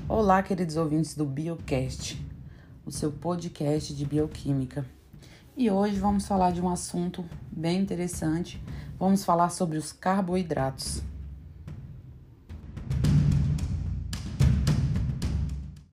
Olá, queridos ouvintes do Biocast, o seu podcast de bioquímica. E hoje vamos falar de um assunto bem interessante. Vamos falar sobre os carboidratos.